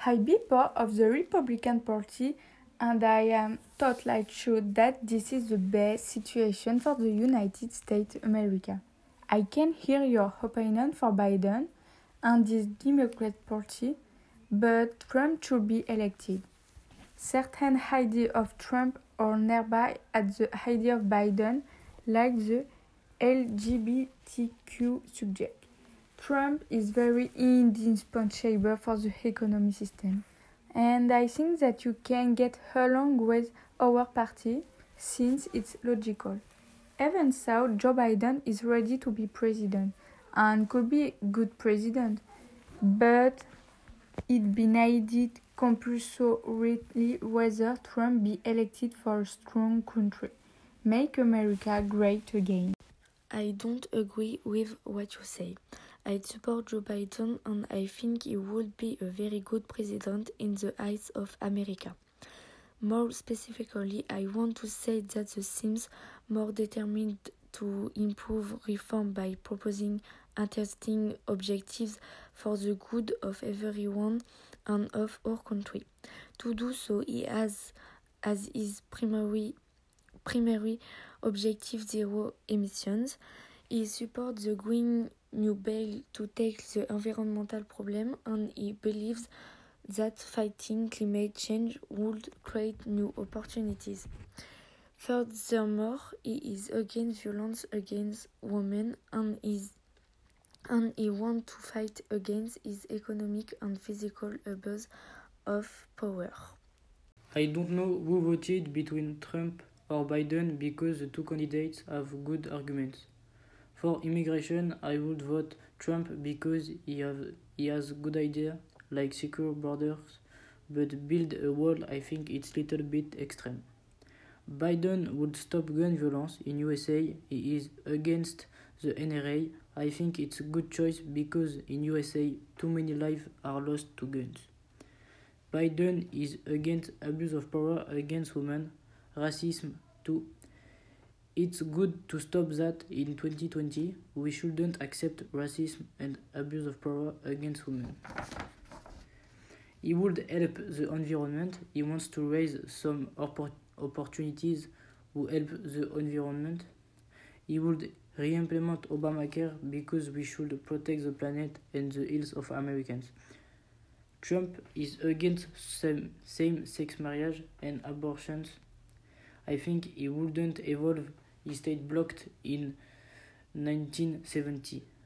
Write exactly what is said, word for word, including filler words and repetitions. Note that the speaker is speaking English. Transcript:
I be part of the Republican Party and I am totally sure that this is the best situation for the United States of America. I can hear your opinion for Biden and the Democrat Party, but Trump should be elected. Certain ideas of Trump are nearby at the idea of Biden, like the L G B T Q subject. Trump is very indispensable for the economic system, and I think that you can get along with our party since it's logical. Even so, Joe Biden is ready to be president and could be a good president, but it be needed compulsorily whether Trump be elected for a strong country. Make America great again. I don't agree with what you say. I support Joe Biden and I think he would be a very good president in the eyes of America. More specifically, I want to say that the seems more determined to improve reform by proposing interesting objectives for the good of everyone and of our country. To do so, he has as his primary primary objective zero emissions. He supports the Green New Deal to take the environmental problem, and he believes that fighting climate change would create new opportunities. Furthermore, he is against violence against women and is and he wants to fight against his economic and physical abuse of power. I don't know who voted between Trump or Biden because the two candidates have good arguments. For immigration, I would vote Trump because he, have, he has good ideas like secure borders, but build a wall I think it's a little bit extreme. Biden would stop gun violence in U S A. He is against the N R A. I think it's a good choice because in U S A too many lives are lost to guns. Biden is against abuse of power against women, racism too. It's good to stop that in twenty twenty. We shouldn't accept racism and abuse of power against women. He would help the environment. He wants to raise some oppor- opportunities who help the environment. He would re-implement Obamacare because we should protect the planet and the health of Americans. Trump is against same, same-sex marriage and abortions. I think he wouldn't evolve. He stayed blocked in nineteen seventy.